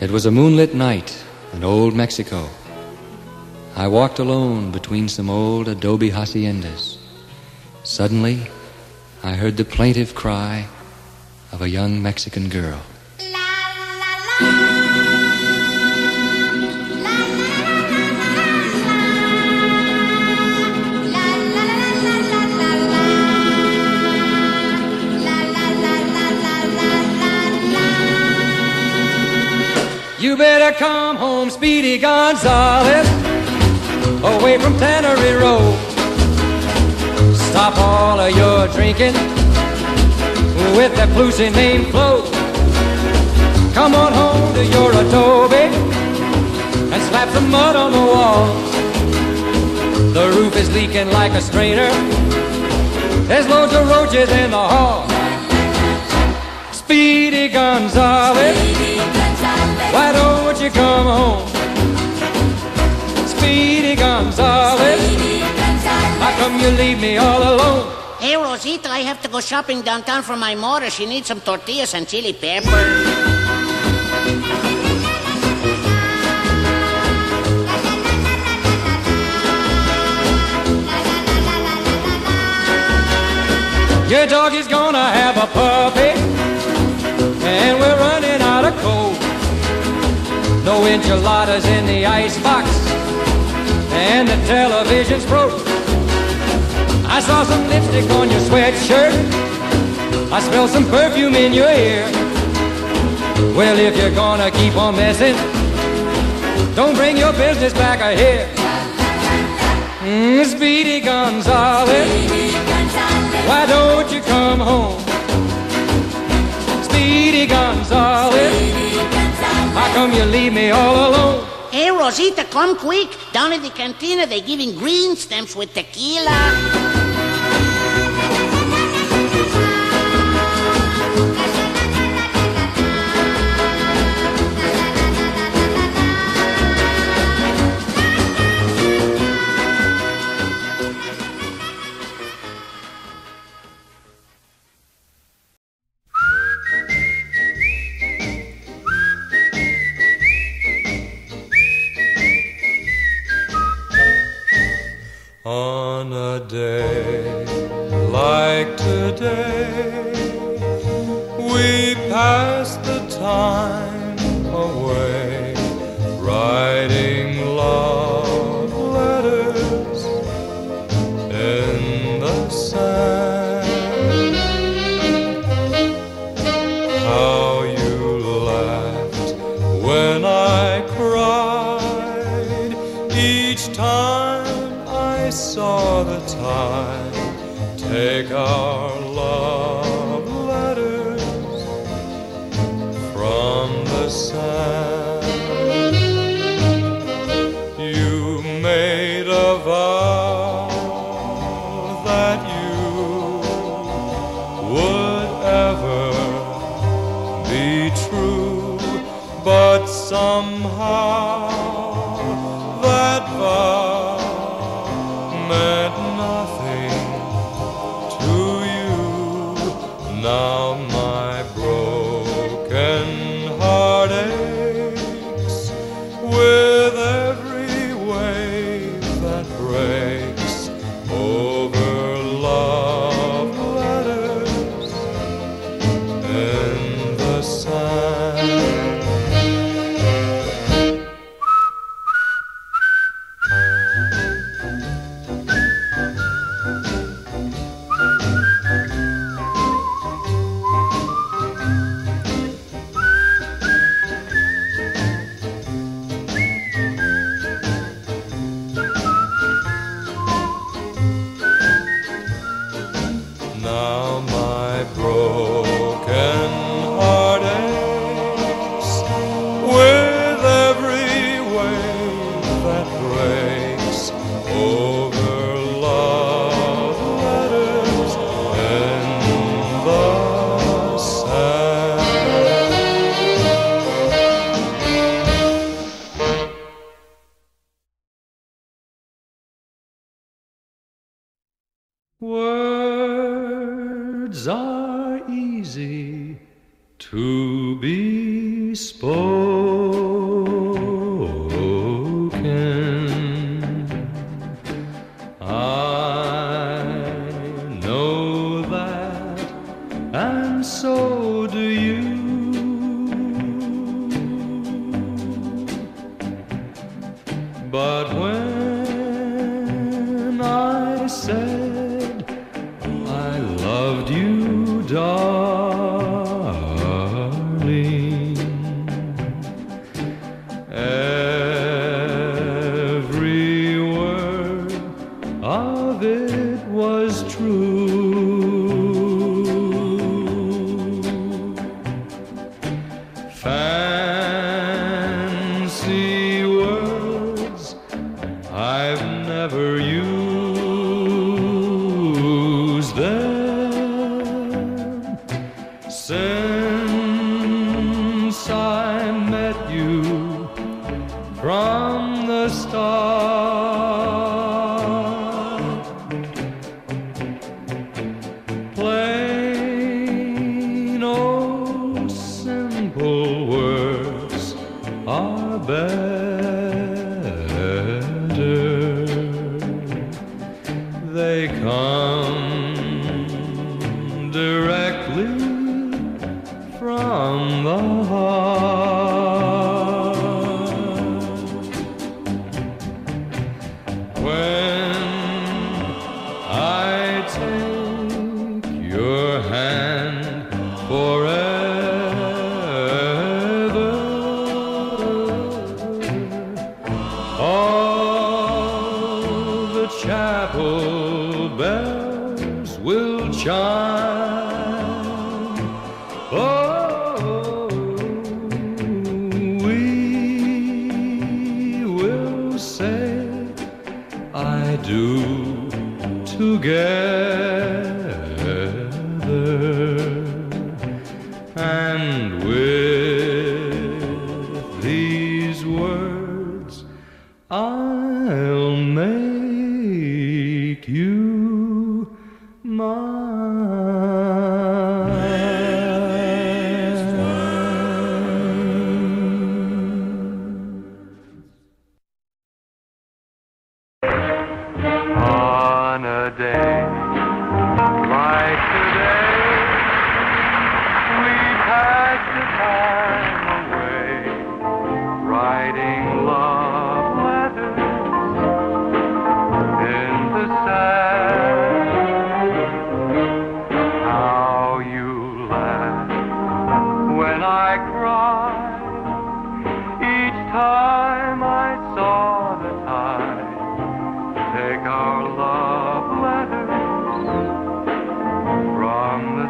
It was a moonlit night in old Mexico. I walked alone between some old adobe haciendas. Suddenly, I heard the plaintive cry of a young Mexican girl. You better come home, Speedy Gonzales, away from Tannery Road. Stop all of your drinking with that Plucy name Flo. Come on home to your adobe and slap some mud on the walls. The roof is leaking like a strainer. There's loads of roaches in the hall. Speedy Gonzales, why don't you come home? Speedy Gonzales, how come you leave me all alone? Hey, Rosita, I have to go shopping downtown for my mother. She needs some tortillas and chili pepper. Your dog is gonna have a puppy, and we're running out of coal. No enchiladas in the icebox, and the television's broke. I saw some lipstick on your sweatshirt. I smell some perfume in your ear. Well, if you're gonna keep on messing, don't bring your business back here. Speedy Gonzales, why don't you come home? Speedy Gonzales, how come you leave me all alone? Hey, Rosita, come quick. Down at the cantina, they're giving green stamps with tequila. On a day like today, we pass the time away, writing love letters in the sand. How you laughed when I cried each time I saw the tide take our love letters from the sand. You made a vow that you would ever be true, but somehow that vow meant nothing to you. Now my broken heart aches with every wave that breaks over love letters in the sand. Now my broken heart aches with every wave that breaks over love letters in the sand. Words are easy to be spoken, darling. Every word of it was true. Fancy words I've never used them since I met you from the start. Plain old simple words are better. They come directly from the heart. When I take your hand forever, all the chapel bells will chime. Oh, we will say I do together, and with these words I'll make you on a day like today, we pass the time away, writing love letters in the sand. How you laugh when I cry each time I saw the tide take our love letters from the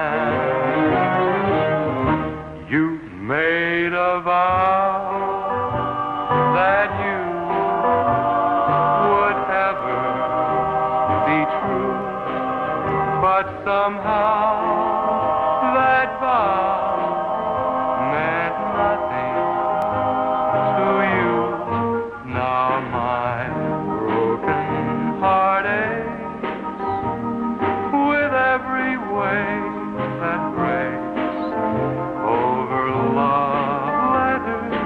sand. You made a vow that you would ever be true, but somehow that vow meant nothing to you. Now my broken heart aches with every wave that breaks over love letters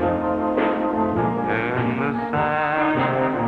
in the sand.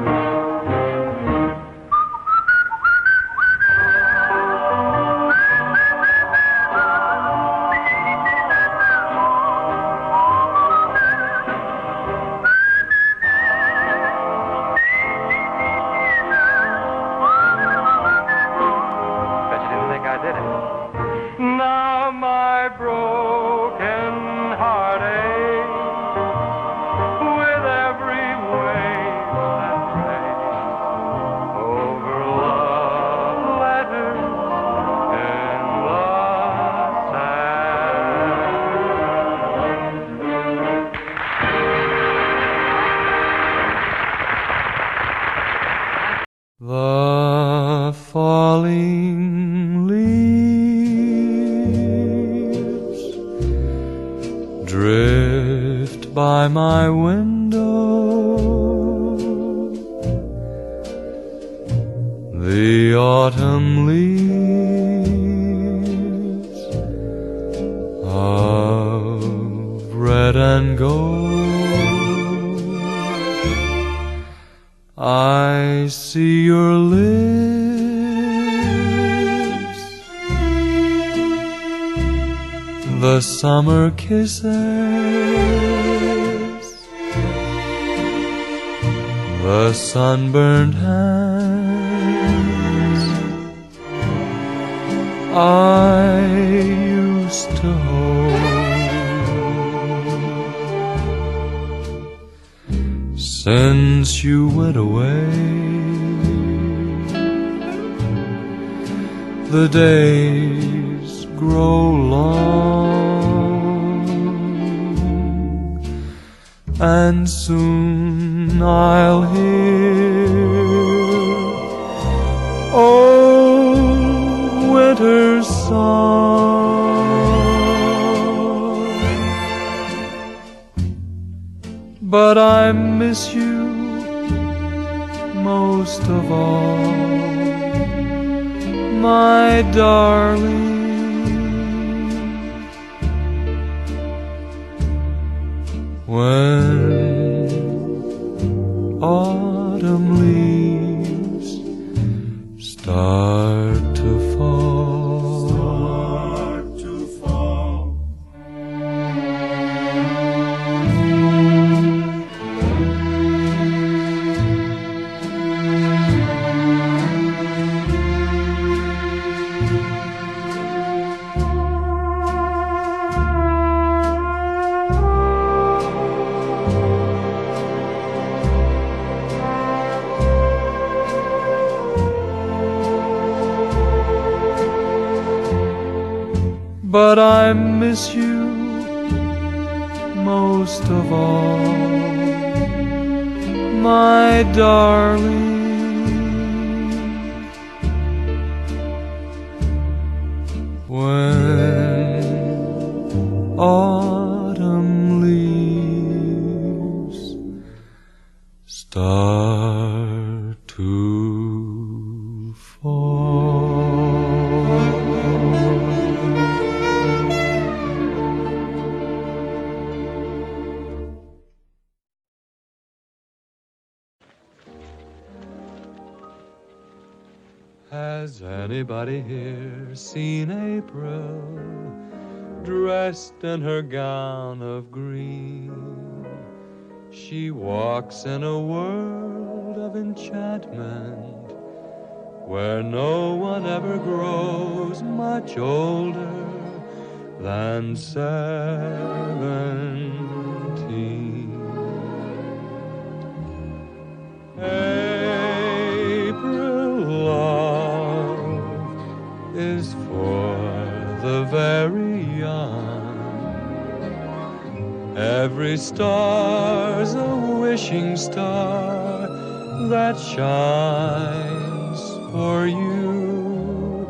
Bet you didn't think I did it. Now my broken heart aches with every wave that breaks over love letters in the sand. The falling leaves drift by my window. The autumn leaves of red and gold. I see your lips, the summer kisses, the sunburned hands I used to hold. Since you went away, the days grow long, and soon I'll hear old winter's song. But I miss you most of all, my darling. When autumn leaves start to fall, but I miss you most of all, my darling. When autumn leaves start to fall. Has anybody here seen April dressed in her gown of green? She walks in a world of enchantment where no one ever grows much older than 17. April love is for the very young. Every star's a wishing star that shines for you.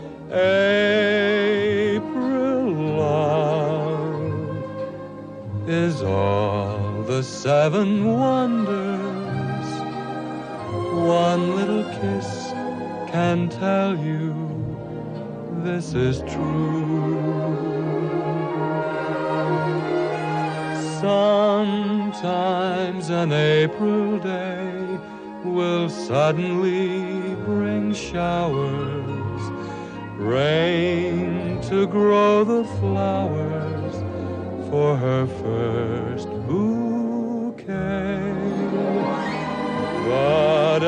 April love is all the 7 wonders. One little kiss can tell you this is true. Sometimes an April day will suddenly bring showers, rain to grow the flowers for her first bouquet. But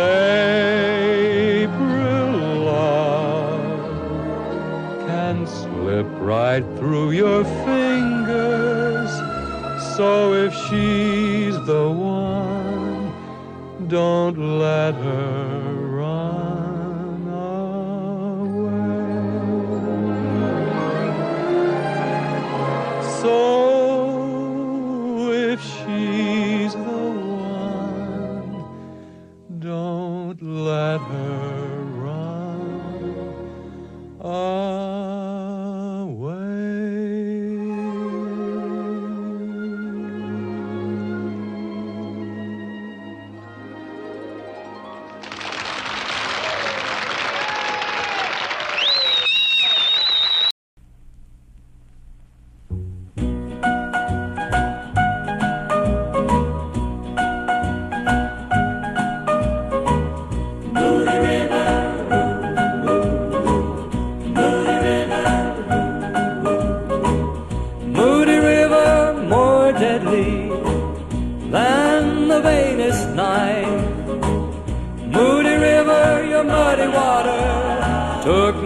April love can slip right through your fingers. So if she's the one, don't let her run away. So if she's the one, don't let her run away.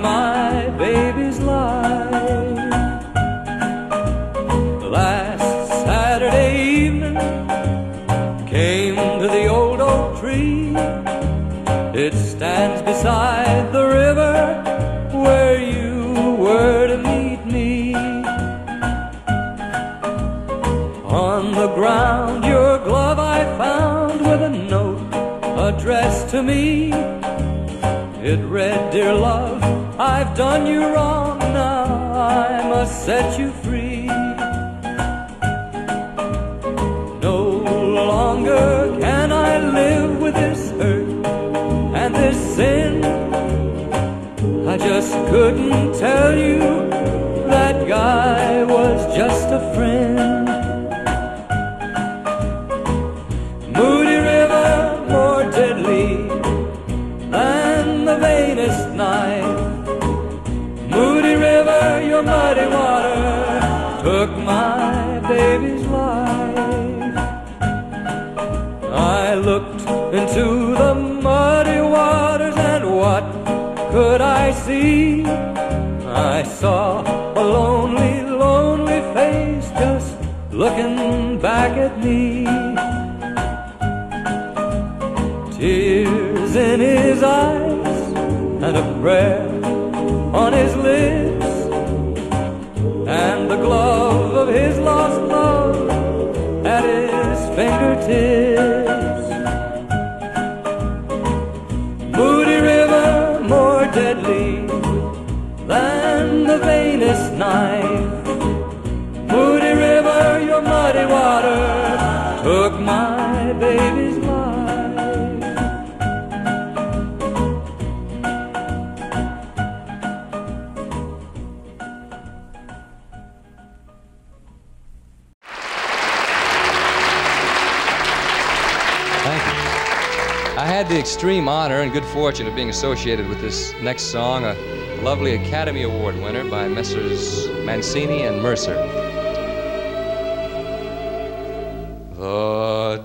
my baby's life. Last Saturday evening, came to the old oak tree. It stands beside the river where you were to meet me. On the ground your glove I found with a note addressed to me. It read, "Dear love, I've done you wrong, now I must set you free. No longer can I live with this hurt and this sin. I just couldn't tell you that guy was just a friend." Moody River, more deadly than the vainest knife. Moody River, your muddy water took my baby's life. I looked into the muddy waters, and what could I see? I saw a lonely, lonely face just looking back at me. Tears in his eyes and a prayer on his lips, and the glove of his lost love at his fingertips. Moody River, more deadly than the vainest knife. Moody River, your muddy water took my baby's life. I had the extreme honor and good fortune of being associated with this next song, a lovely Academy Award winner by Messrs. Mancini and Mercer. The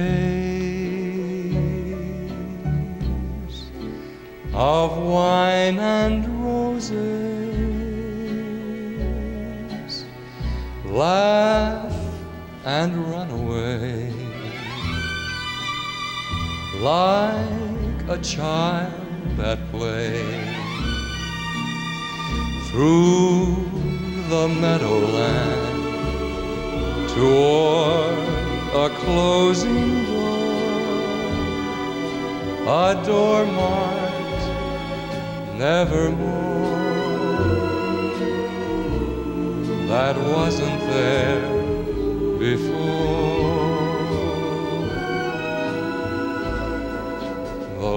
days of wine and roses, laugh and run away. Like a child at play, through the meadowland, toward a closing door, a door marked nevermore, that wasn't there before. The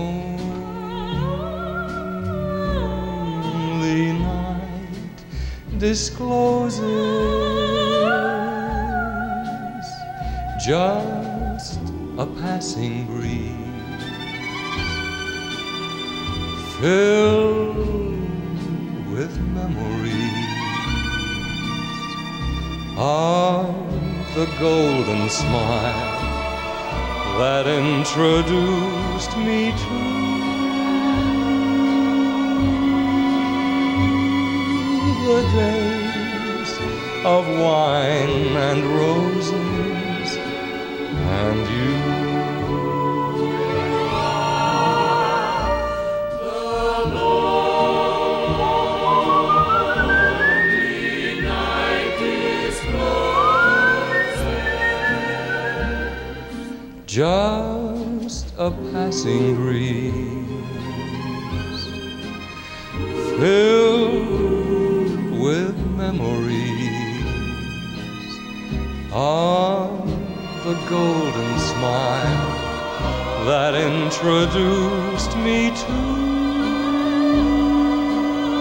lonely night discloses just a passing breeze, filled with memories of the golden smile that introduced me to the days of wine and roses and you. Just a passing breeze, filled with memories of the golden smile that introduced me to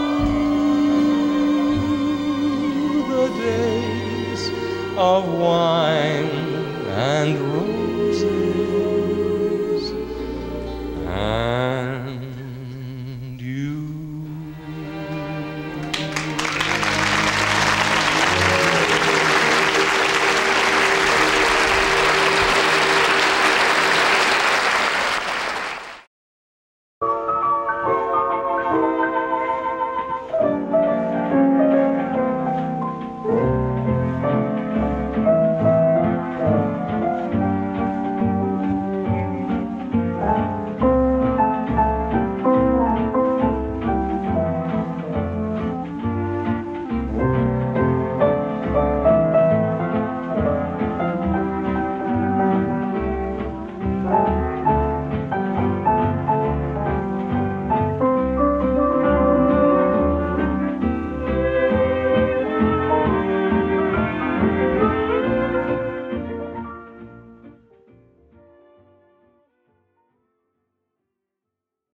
the days of wine